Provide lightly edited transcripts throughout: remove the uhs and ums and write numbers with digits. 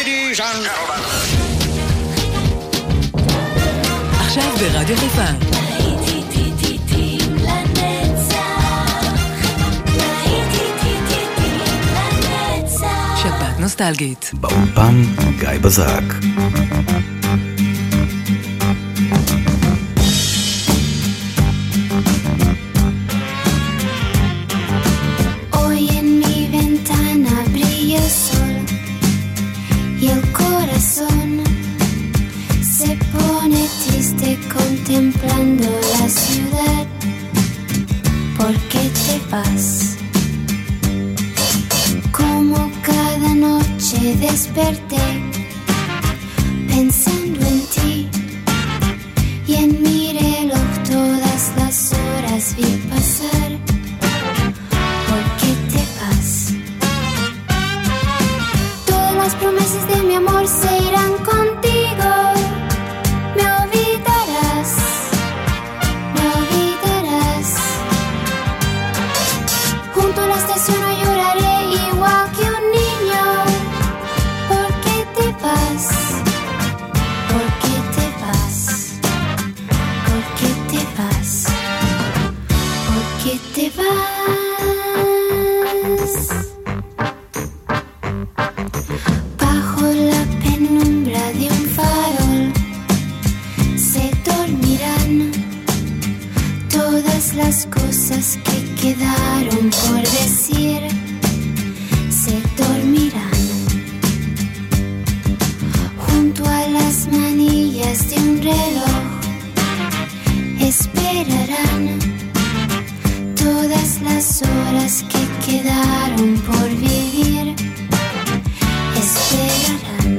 Ladies and gentlemen. עכשיו ברדיו חיפה. שבת נוסטלגית. באולפן גיא בזק. Contemplando la ciudad, ¿por qué te vas? Como cada noche desperté pensando en ti y en mi reloj todas las horas vi pasar. ¿Por qué te vas? Todas las promesas de mi amor se irán contigo. No lloraré igual que un niño. ¿Por qué te vas? ¿Por qué te vas? ¿Por qué te vas? ¿Por qué te vas? Bajo la penumbra de un farol se dormirán todas las cosas que quedaron por decir, se dormirán junto a las manillas de un reloj, esperarán todas las horas que quedaron por vivir, esperarán.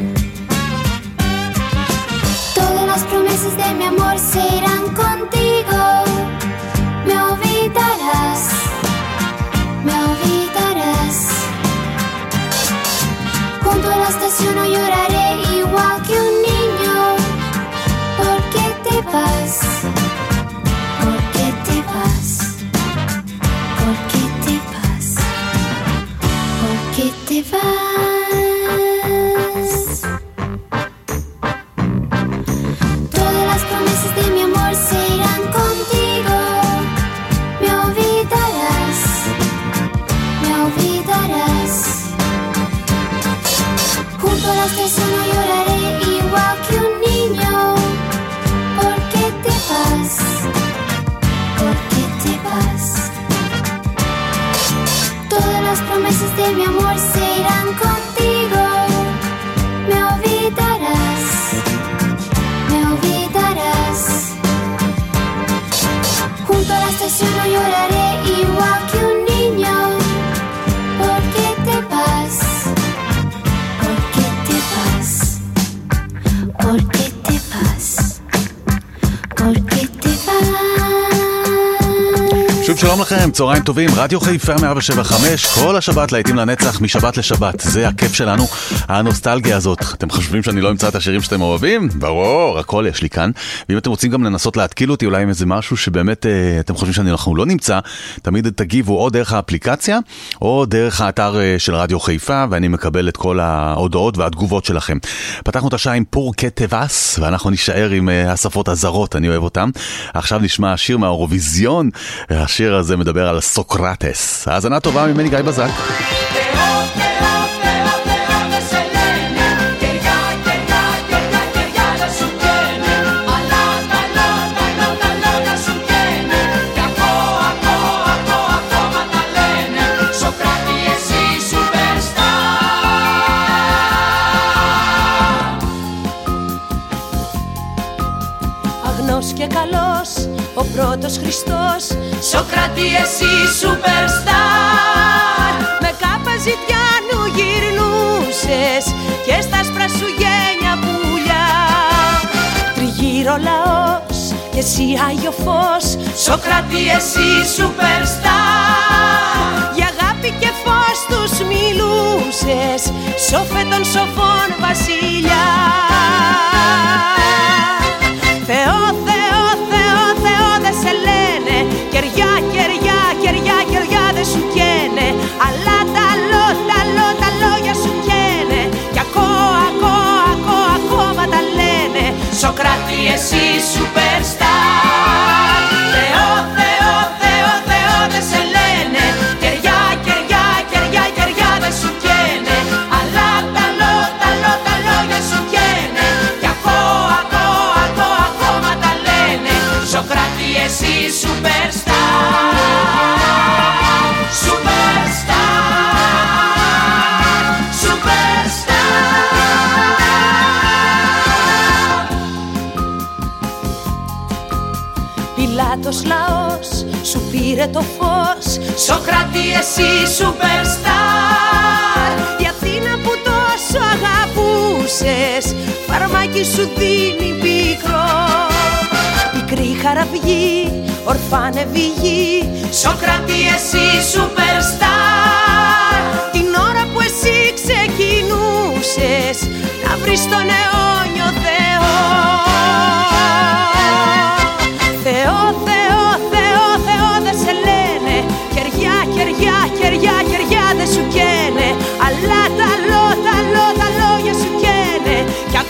Todas las promesas de mi amor se irán contigo. Me olvidarás, me olvidarás. Junto a la estación no lloraré igual que un niño. ¿Por qué te vas? ¿Por qué te vas? ¿Por qué te vas? ¿Por qué te vas? Todas las promesas de mi amor se irán contigo. Me olvidarás, me olvidarás. Junto a la estación no lloraré igual que un niño. ¿Por qué te vas? ¿Por qué te vas? Todas las promesas de mi amor se irán contigo. Me olvidarás, me olvidarás. Junto a la estación no lloraré igual que un niño. ¿Por qué te vas? ¿Por qué te vas? ¿Por qué te vas? ¿Por qué te vas? שוב שלום לכם, צהריים טובים, רדיו חיפה 107.5, כל השבת להיטים לנצח, משבת לשבת, זה הכיף שלנו, הנוסטלגיה הזאת. אתם חושבים שאני לא אמצא את השירים שאתם אוהבים? ברור, הכל יש לי כאן. ואם אתם רוצים גם לנסות להתקיל אותי אולי עם איזה משהו שבאמת אתם חושבים שאנחנו לא נמצא, תמיד תגיבו או דרך האפליקציה או דרך האתר של רדיו חיפה, ואני מקבל את כל ההודעות והתגובות שלכם. פתחנו את השעה עם פור קטבס, ואנחנו נשאר עם השפות הזרות, אני אוהב אותם. עכשיו נשמע שיר מהאירוויזיון, השיר הזה מדבר על סוקרטס. האזנה טובה ממני גיא בזק. Αγνός και καλός ο πρώτος Χριστός, Σοκράτη εσύ superstar. Με κάπα ζητιάνου γυρνούσες και στα άσπρα σου γένια πουλιά. Τριγύρω λαός και εσύ Άγιο Φως, Σοκράτη εσύ superstar. Για αγάπη και φως τους μιλούσες, σοφέ των σοφών βασιλιά. Θεό, Θεό, Θεό, Θεό δε σε λένε, κεριά, κεριά, κεριά, κεριά δε σου καίνε, αλλά τα λόγια σου καίνε, κι ακόμα άλλος λαός σου πήρε το φως. Σοκράτη εσύ superstar, η Αθήνα που τόσο αγαπούσες φαρμάκι σου δίνει πικρό. Πικρή χαραυγή, ορφάνευη γη, Σοκράτη εσύ superstar. Την ώρα που εσύ ξεκινούσες να βρεις τον αιώνιο Θεό. Θεό, Θεό, Θεό, Θεό δεν σε λένε, κεριά, κεριά, κεριά, κεριά δεν σου καίνε, αλλά τα λόγια σου καίνε, κι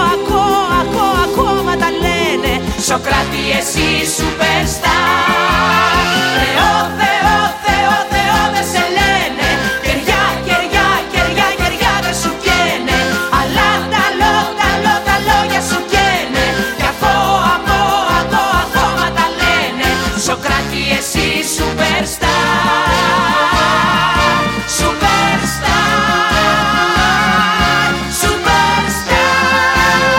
ακόμα τα λένε. Σοκράτη εσύ superstar. Θεό, Θεό, Θεό, Θεό δεν σε λένε, κεριά, κεριά, κεριά, κεριά δεν σου καίνε, αλλά τα λόγια σου καίνε, κι ακόμα τα λένε. Σοκράτη εσύ superstar, superstar, superstar.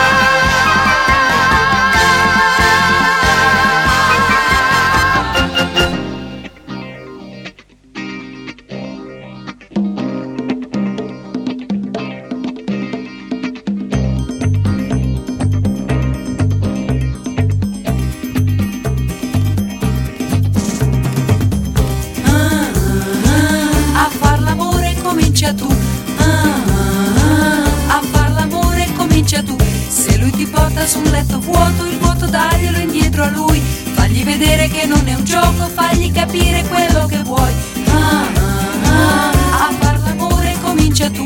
A far l'amore comincia tu, a far l'amore comincia tu. Se lui ti porta su un letto vuoto, il vuoto daglielo indietro a lui. Fagli vedere che non è un gioco, fagli capire quello che vuoi. A far l'amore comincia tu,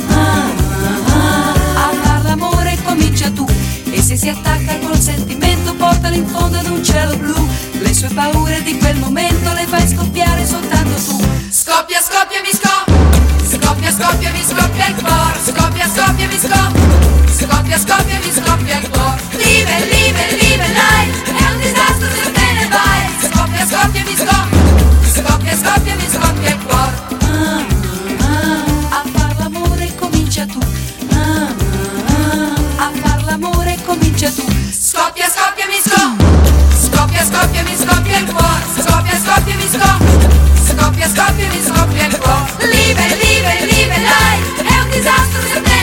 a far l'amore comincia tu. E se si attacca col sentimento, portalo in fondo ad un cielo blu. Le sue paure di quel momento le fai scoppiare soltanto tu. Scoppia, scoppia, mi scoppia, scoppia, scoppia, mi scoppia il cuore. Scoppia, scoppia, mi scoppia, scoppia, scoppia, mi scoppia il cuore. Live, live, live life, è un disastro se te ne vai. Scoppia, scoppia, mi scoppia, scoppia, scoppia, mi scoppia il cuore. A far l'amore comincia tu, a far l'amore comincia tu. Scoppia, scoppia, mi scoppia, scoppia, scoppia, mi scoppia il cuore. Scoppia, scoppia, mi scoppia, scoppia, scoppia, mi scoppia il cuore. Live, live, live life, è un disastro se te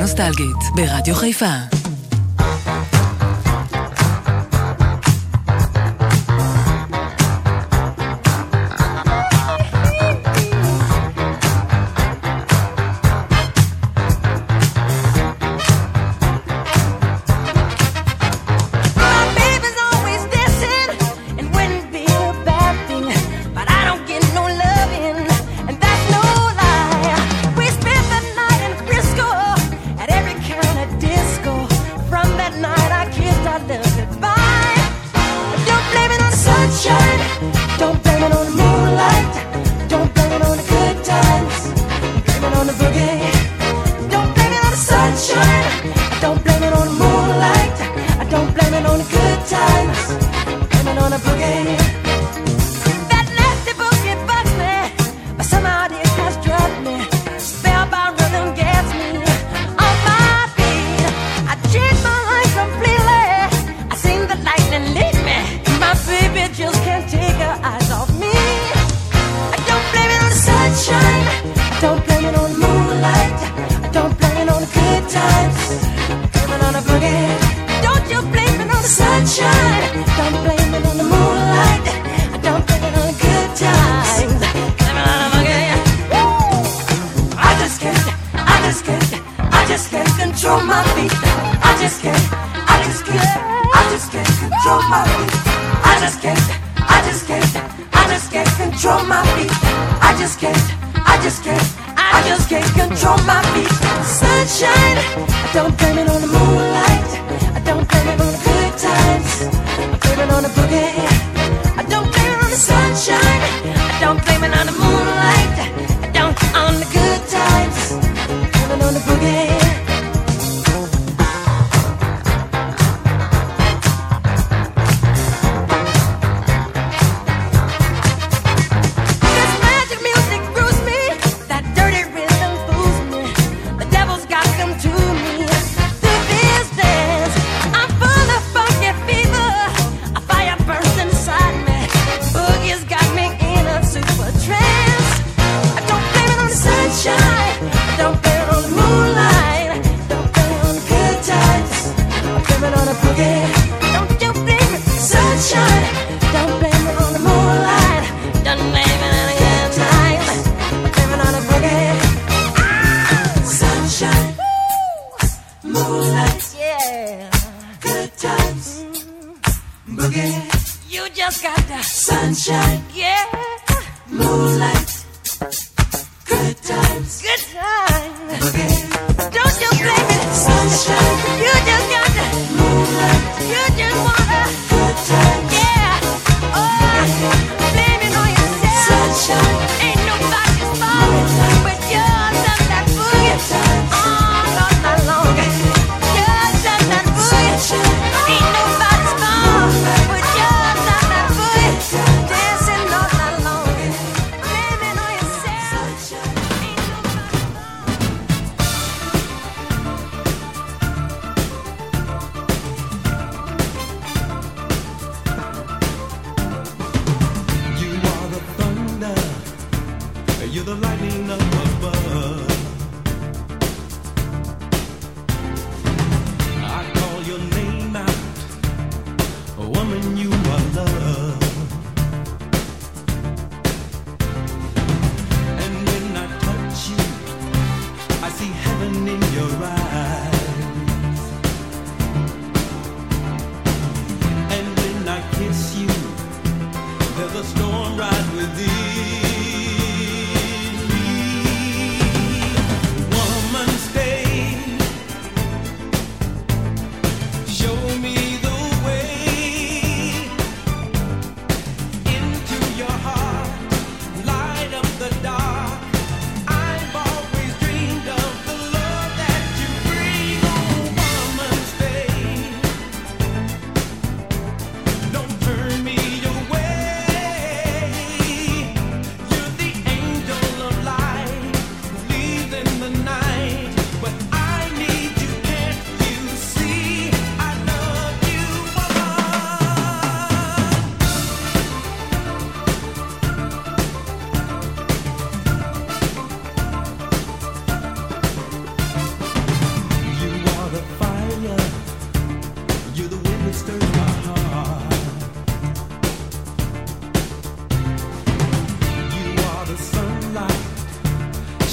נוסטלגית ברדיו חיפה.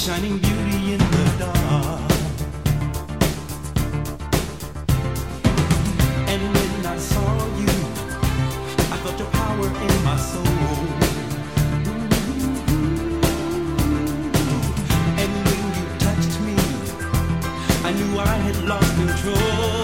shining beauty in the dark. And when I saw you, I felt your power in my soul. And when you touched me, I knew I had lost control.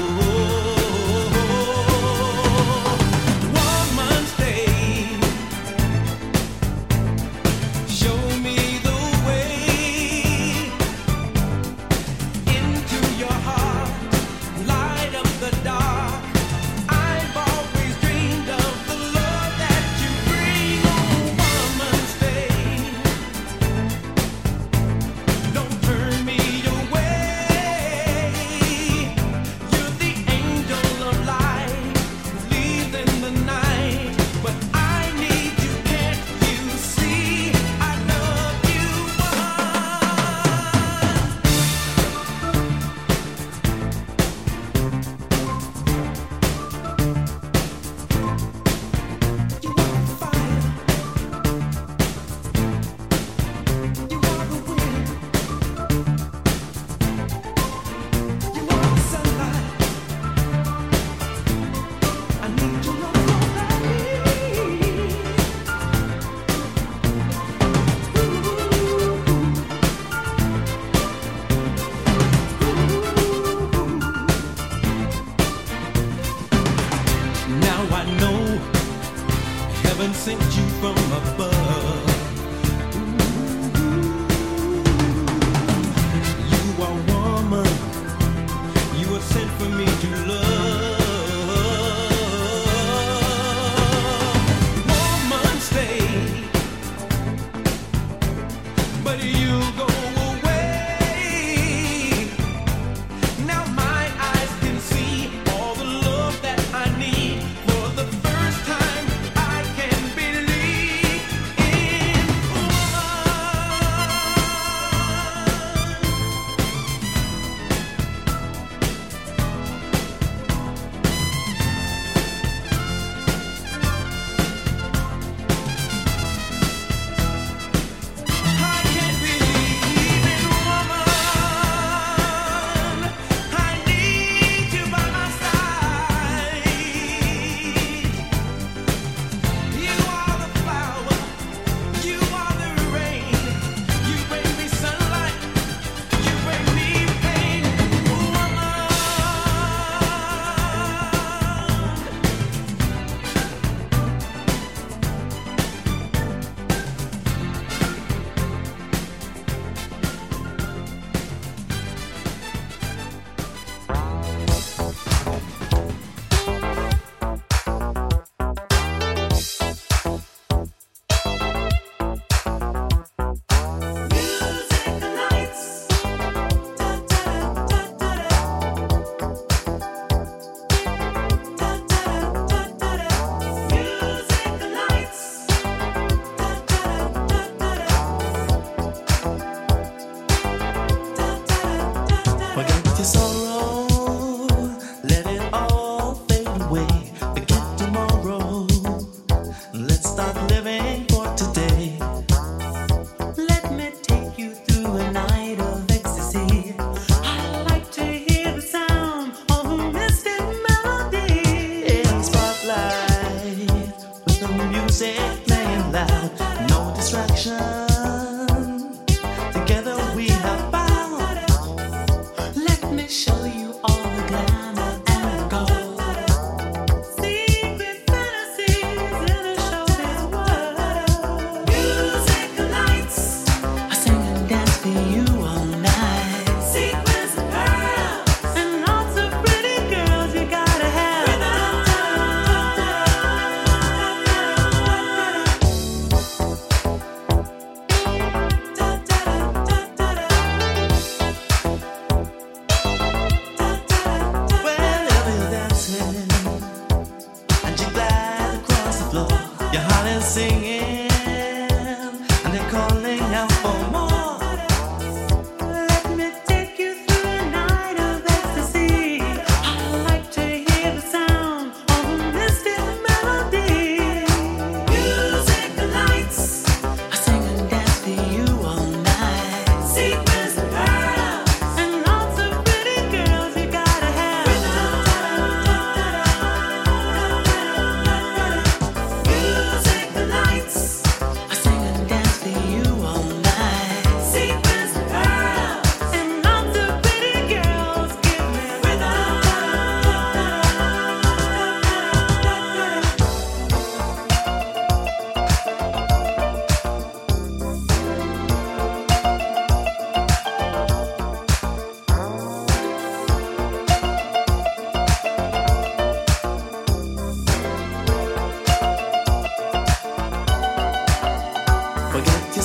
Sent you from above. You are woman, you were sent for me to love. Woman, stay, but you go away. Now my eyes can see all the love that I need. For the first time I can believe in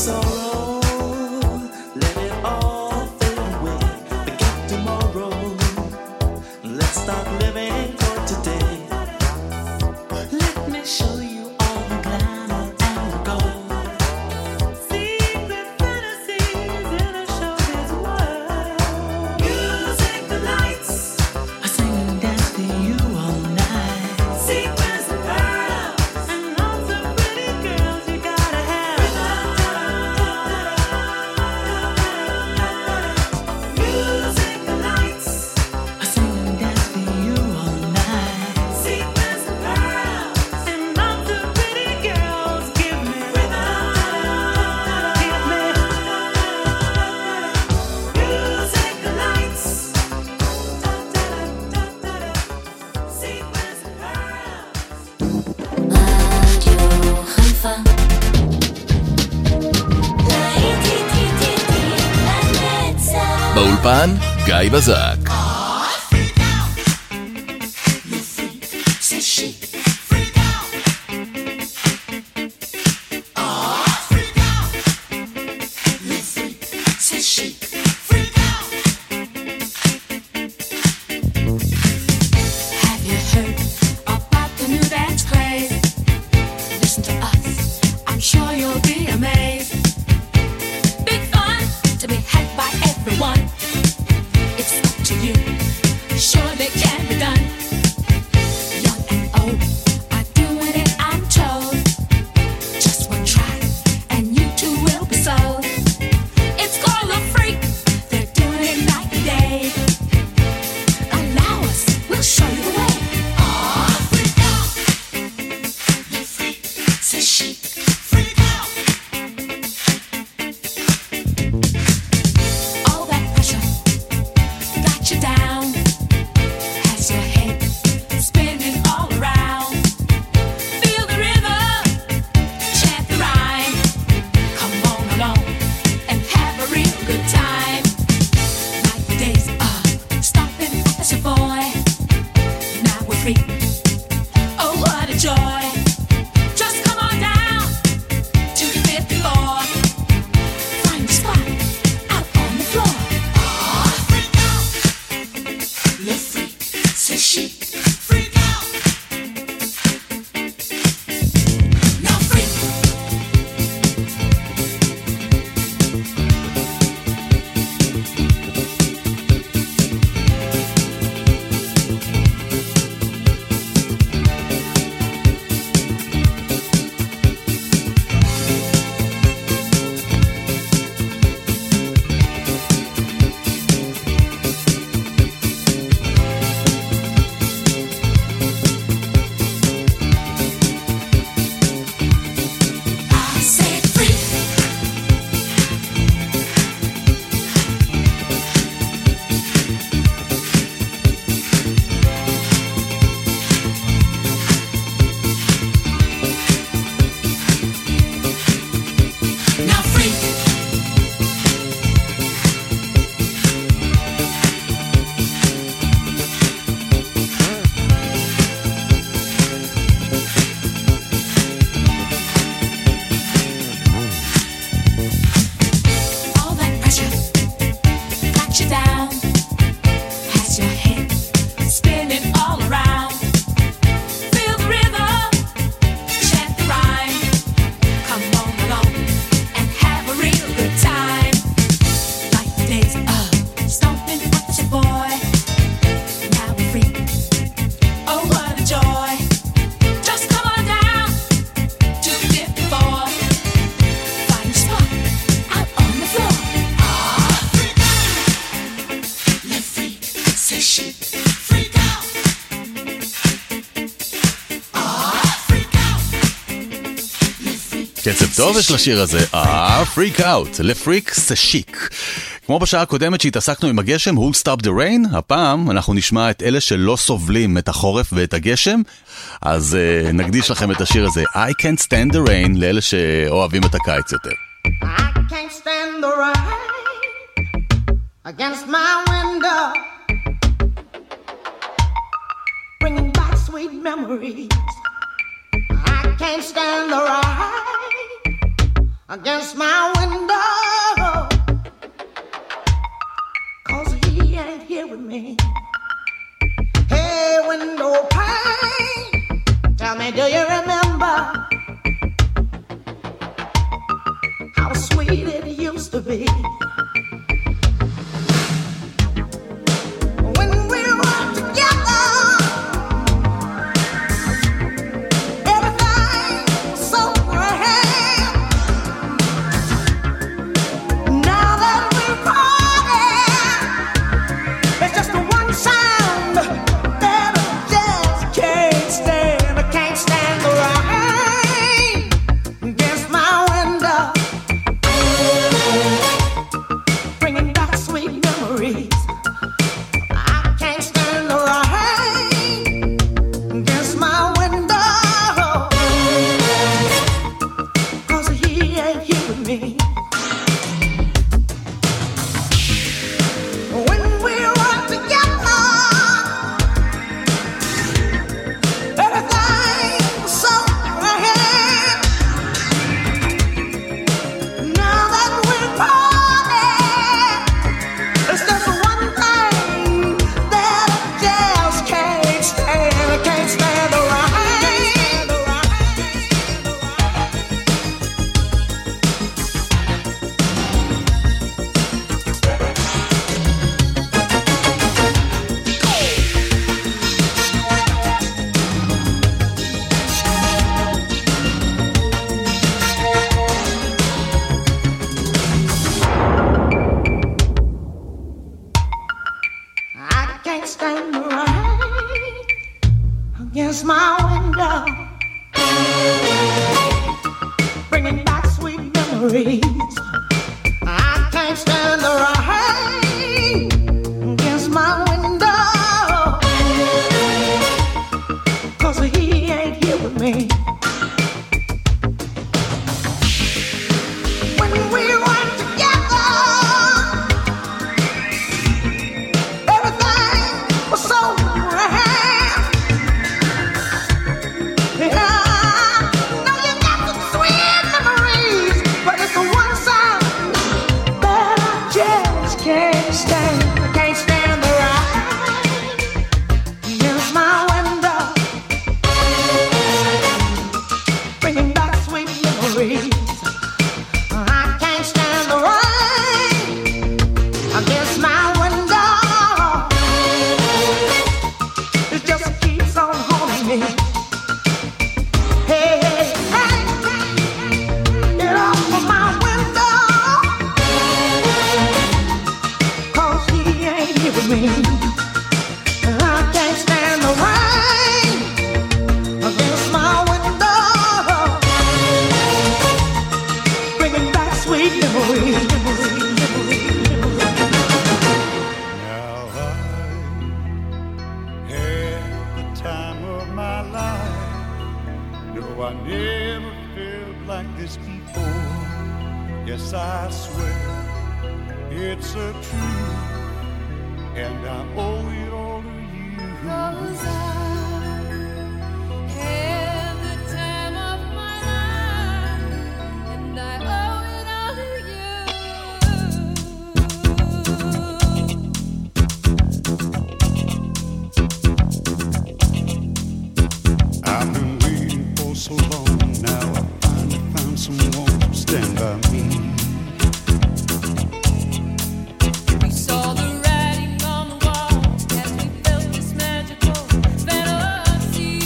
sorrow, let it all fade away. Forget tomorrow, let's start living for today. Let me show you all the glamour and the gold. Secret fantasies in a showbiz world. Music, the lights, I sing and dance to you all night. Sequins and pearls, and lots of pretty girls you gotta have. Music, the lights, I sing and dance to you all night. Sequins and pearls, and lots of pretty girls. Give me rhythm, give me music, the lights, sequins and pearls. רדיו חיפה לנצח באולפן גיא בזק. C'est chic, freak out. Freak out. Le freak, c'est chic, freak out. Have you heard about the new dance craze? Listen to us, I'm sure you'll be amazed. Big fun to be had by everyone. It's up to you, sure they can be done. Young and old are doing it, I'm told. Just one try, and you too will be sold. It's called a freak, they're doing it night and day. Allow us, we'll show you the way. Freak out, le freak, c'est chic. Freak out. All that pressure got you down. Has your head spinning all around. Feel the rhythm, chant the rhyme. Come on along and have a real good time. Like the days of stomping as a boy. Now we're free. Oh, what a joy. Just come on down to the 5th floor. Find a spot out on the floor. Freak out. Le freak, c'est chic. Freak out. Now freak. I said freak. Now freak. All that pressure got you down. Has your head spinning all around. Feel the rhythm, chant the rhyme. Come on along and have a real good time. Like the days of stomping as a boy. Now we're free. Oh, what a joy. Just come on down to the 5th floor. Find a spot out on the floor. Freak out. Le freak, c'est chic. Freak out. Freak out. Le freak. קצב טוב יש לשיר הזה, Freak Out, לפריק זה שיק. כמו בשעה הקודמת שהתעסקנו עם הגשם, Who'll Stop the Rain, הפעם אנחנו נשמע את אלה שלא סובלים את החורף ואת הגשם, אז נקדיש לכם את השיר הזה, I Can't Stand the Rain, לאלה שאוהבים את הקיץ יותר. I can't stand the rain against my window, bringing back sweet memories. I can't stand the rain against my window, 'cause he ain't here with me. Hey, window pane, tell me, do you remember how sweet it used to be? When we were together, everything was so grand. Now that we're parted, it's just the one sound that I just can't stand. I can't stand the rain against my window, bringing back sweet memories. I can't stand the rain against my window, 'cause he ain't here with me. When we were together, everything was so grand. Now that we're parted, it's just the one thing that I just can't stand. I can't stand the rain. I can't stand the rain against my window, bringing back sweet memories. I can't stand the rain against my window, 'cause he ain't here with me. When we were together, everything was so grand. Yeah, now you got some sweet memories, but it's the one sound that I just can't stand. I can't stand the rain against my window, bringing back sweet memories. I can't stand the rain against my window. It just keeps on haunting me. Hey, hey, hey, get off of my window, 'cause he ain't here with me. I can't stand the rain against my window, bringing back sweet memories. Now I had the time of my life. No, I never felt like this before. Yes, I swear it's a truth, and I owe it all to you. 'Cause I had the time of my life, and I owe it all to you. I've been waiting for so long. Now I finally found someone to stand by me. We saw the writing on the wall as we felt this magical fantasy.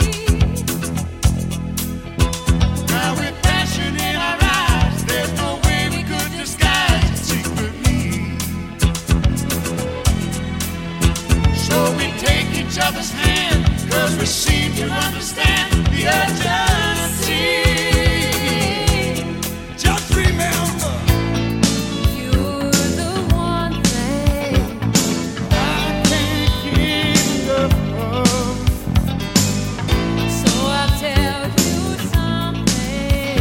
Now with passion in our eyes, there's no way we could disguise it secretly. So we take each other's hand, 'cause we seem to understand the urgency. Just remember, You're the one thing I can't keep the love. so I'll tell you something.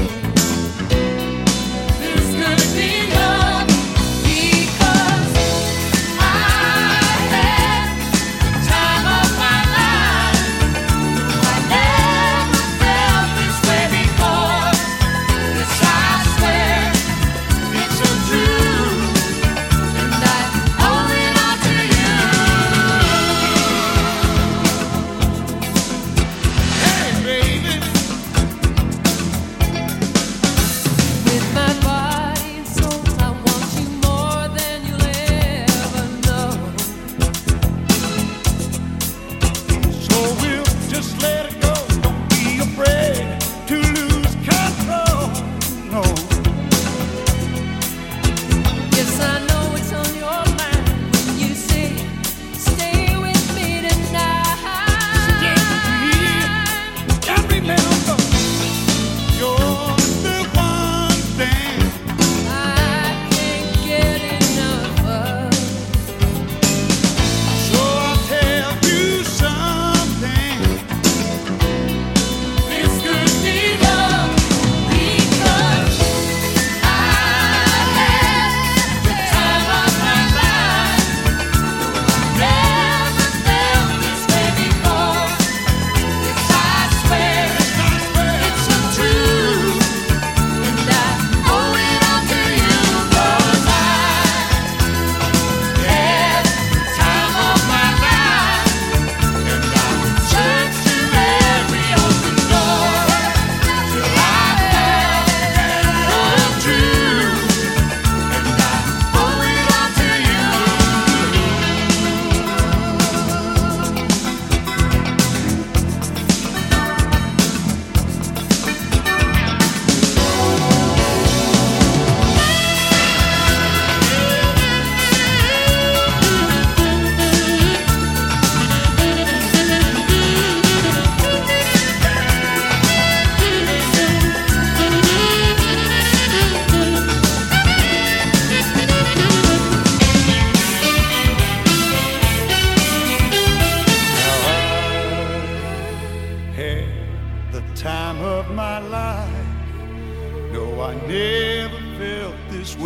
This could be love because I had the time of my life. I never felt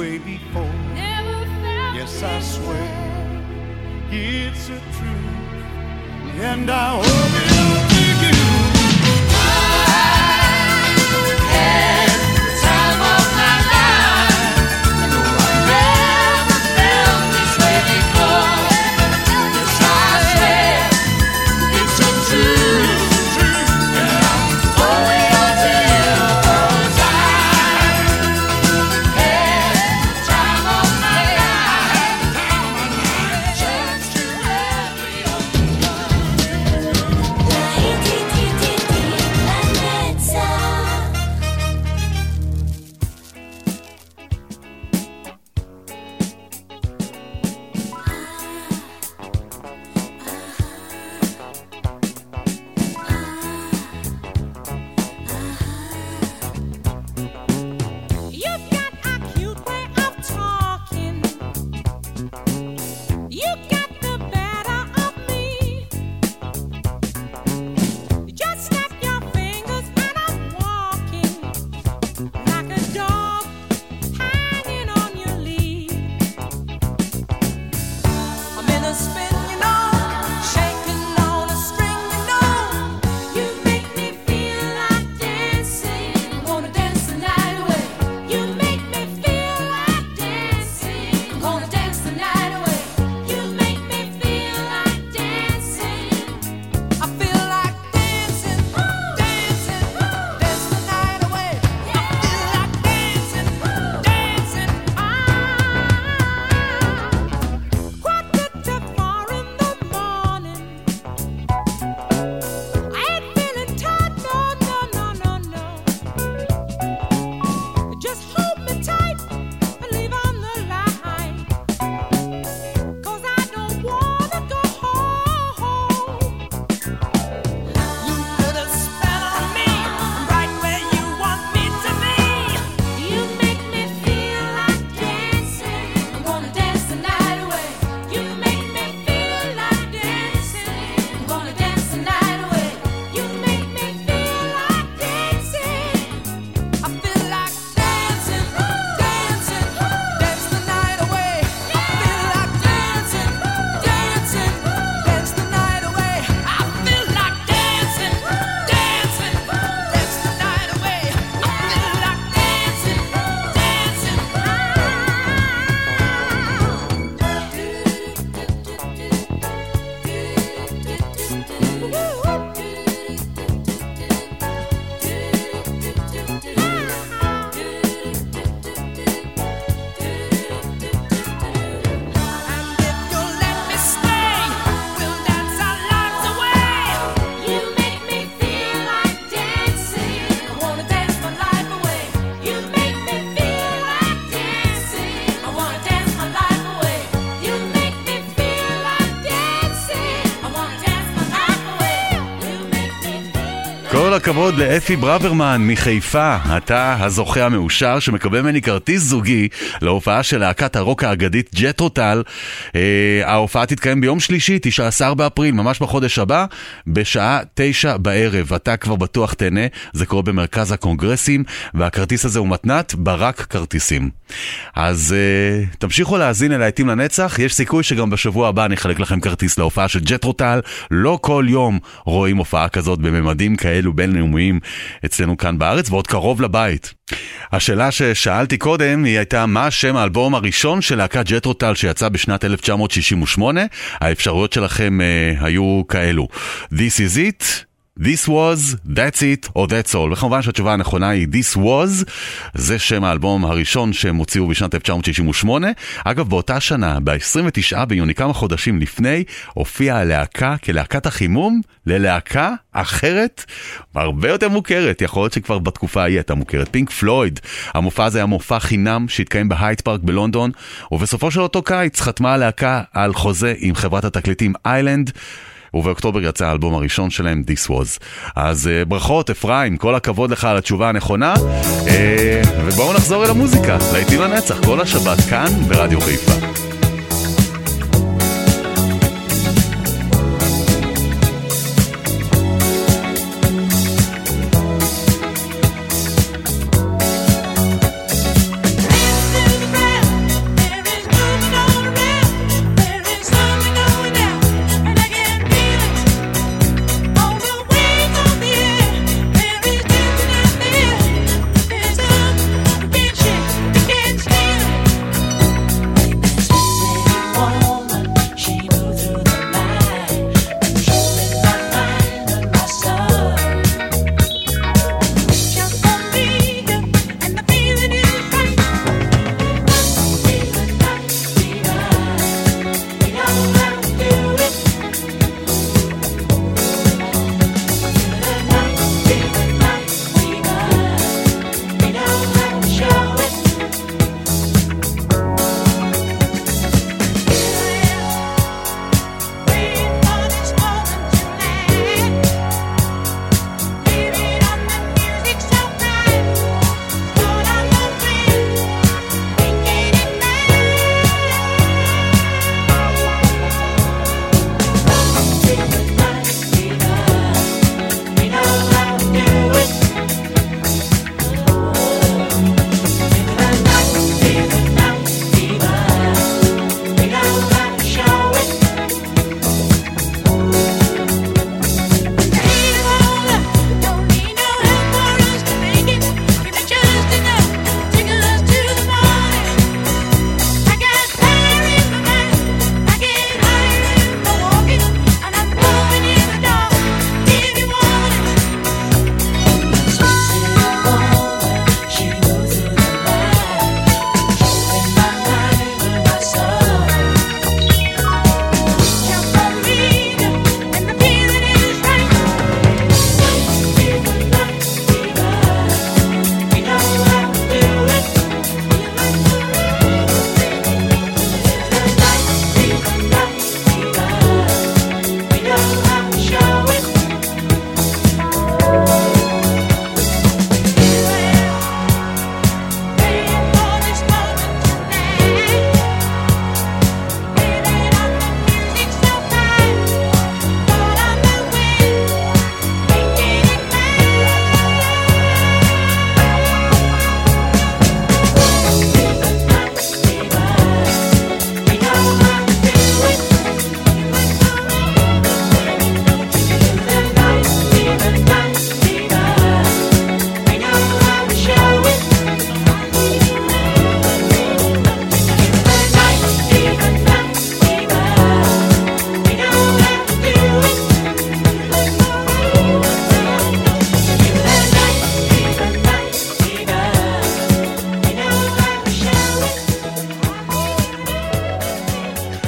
way before. Yes, I swear it's a truth, and I owe it all to you. Had the time of my life. No, I never felt this way before. Yes, I swear it's a truth, and I owe it all to you. 'Cause I had the time of my life. Chance to every open You've got a cute way of talking. You got the better of me. Just snap your fingers and I'm walking like a dog hanging on your lead. I'm in a spin, you know, shaking on a string, you know. You make me feel like dancing. I wanna dance the night away. You make me feel like dancing. I'm gonna dance the night away. You make me feel like dancing. I feel like dancing, dancing, dance the night away. I feel like dancing, dancing. Quarter to 4 in the morning. I ain't feeling tight, no, no, no, no, no. Just hold me tight and leave on the light. 'Cause I don't wanna go home. You put a spell on me, right where you want me to be. You make me feel like dancing. I'm gonna dance the night away. You make me feel like dancing. I'm gonna dance the night away. You make me feel like dancing. I feel like dancing, dancing, dance the night away. I feel like dancing, dancing, dance the night away. I feel like dancing, dancing, dance the night away. I feel like dancing, dancing. And if you'll let me stay, we'll dance our lives away. You make me feel like dancing. I wanna dance my life away. You make me feel like dancing. I wanna dance my life away. You make me feel like dancing. I wanna dance my life away. You make me feel. כל הכבוד לאפי ברוורמן מחיפה, אתה הזוכה המאושר שמקבל ממני כרטיס זוגי להופעה של להקת הרוק האגדית ג'טרוטל. ההופעה תתקיים ביום שלישי, 19 באפריל, ממש בחודש הבא, בשעה 9 בערב. אתה כבר בטוח תהנה, זה קורה במרכז הקונגרסים, והכרטיס הזה הוא מתנת ברק כרטיסים. אז תמשיכו להאזין אל להיטים לנצח, יש סיכוי שגם בשבוע הבא אני אחלק לכם כרטיס להופעה של ג'טרוטל. לא כל יום רואים הופעה כזאת בממדים כאלו בינלאומיים אצלנו כאן בארץ, ועוד קרוב לבית. השאלה ששאלתי קודם היא הייתה מה שם האלבום הראשון של להקת ג'טרוטל שיצא בשנת 1968. האפשרויות שלכם היו כאלו: This is it, This was, That's it או That's all. וכמובן שהתשובה הנכונה היא This was. זה שם האלבום הראשון שהם הוציאו בשנת 1968. אגב, באותה שנה, ב-29 ביוני, כמה חודשים לפני, הופיעה הלהקה כלהקת החימום ללהקה אחרת, הרבה יותר מוכרת. יכול להיות שכבר בתקופה היא הייתה מוכרת, פינק פלויד. המופע הזה היה מופע חינם שהתקיים בהייד פארק בלונדון, ובסופו של אותו קיץ חתמה הלהקה על חוזה עם חברת התקליטים איילנד, ובאוקטובר יצא האלבום הראשון שלהם, This Was. אז ברכות אפרים, כל הכבוד לך על התשובה הנכונה, ובואו נחזור אל המוזיקה, להיטים לנצח כל השבת כאן ברדיו חיפה. Listen to the breath.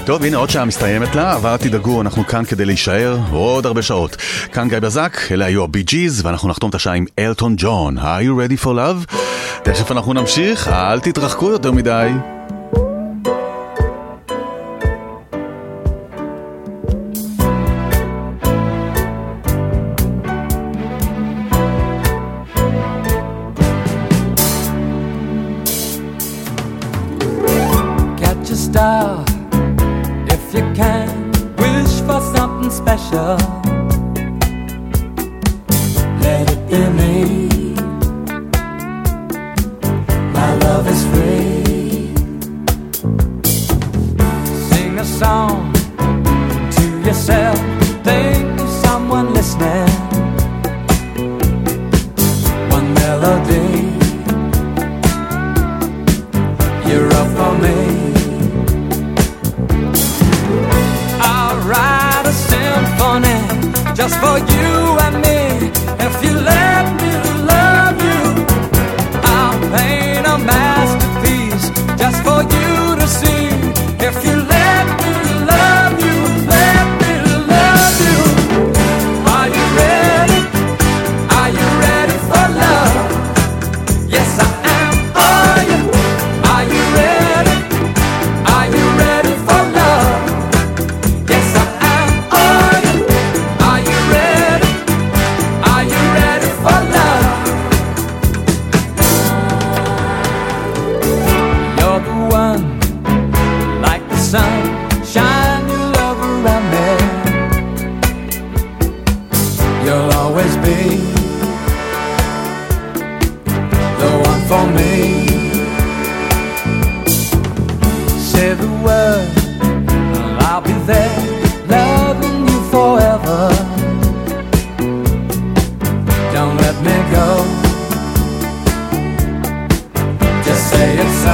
טוב, הנה עוד שעה מסתיימת לה, אבל תדאגו, אנחנו כאן כדי להישאר עוד הרבה שעות. כאן גיא בזק, אלה היו הבי ג'יז, ואנחנו נחתום את השעה עם אלטון ג'ון. Are you ready for love? תכף אנחנו נמשיך, אל תתרחקו יותר מדי. If you can, wish for something special, let it be me. My love is free. Sing a song to yourself, think of someone listening. One melody, you're up for me. Write a symphony just for you and me. If you let me love you, I'll paint a masterpiece just for you to see. If you let me love you, let me love you. Are you ready? Are you ready for love? Yes, I am. Are you ready? Are you ready for love? Sun, shine your love around me. You'll always be the one for me. Say the word, I'll be there, loving you forever. Don't let me go, just say it so.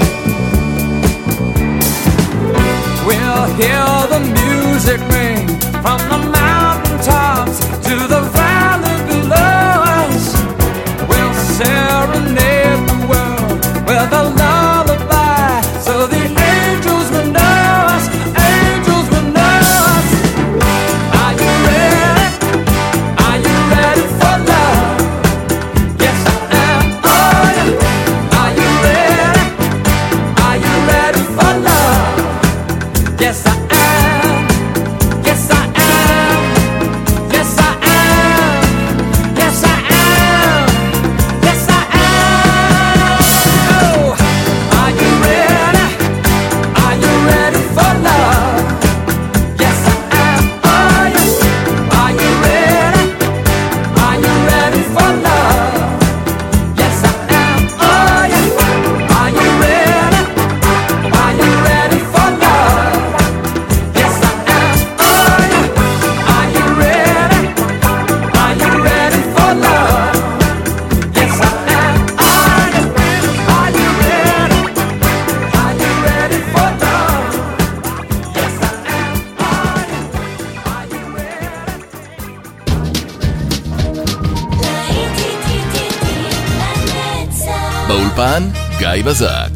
We'll hear the music ring from the mountaintops to the valley below us. We'll serenade the world with a lullaby, so the angels will know us, angels will know us. Are you ready? Are you ready for love? Yes, I am. Are you ready? Are you ready for love? Yes, I am. Yes, I am. Yes, I am. Yes, I am. Yes, I am. Oh, are you ready? Are you ready for love? Yes, I am. Oh, yes. Are you ready? Are you ready for love? Yes, I am. Oh, yes. Are you ready? Are you ready for love? באולפן גיא בזק.